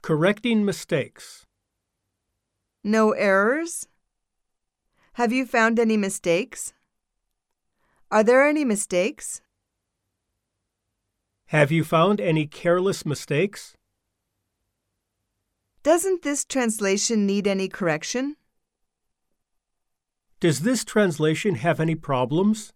Correcting mistakes. No errors? Have you found any mistakes? Are there any mistakes? Have you found any careless mistakes? Doesn't this translation need any correction? Does this translation have any problems?